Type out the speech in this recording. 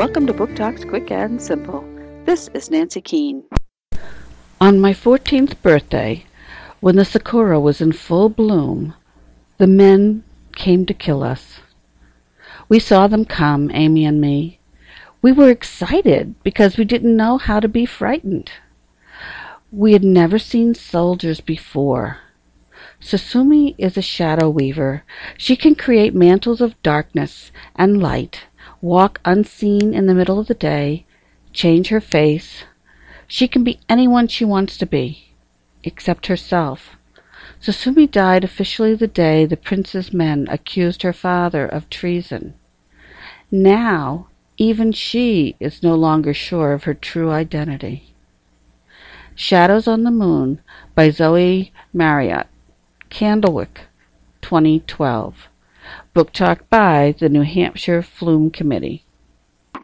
Welcome to Book Talks Quick and Simple. This is Nancy Keene. On my 14th birthday, when the sakura was in full bloom, the men came to kill us. We saw them come, Amy and me. We were excited because we didn't know how to be frightened. We had never seen soldiers before. Susumi is a shadow weaver. She can create mantles of darkness and light, walk unseen in the middle of the day, change her face. She can be anyone she wants to be, except herself. Susumi died officially the day the prince's men accused her father of treason. Now, even she is no longer sure of her true identity. Shadows on the Moon by Zoe Marriott, Candlewick, 2012. Book Talk by the New Hampshire Flume Committee.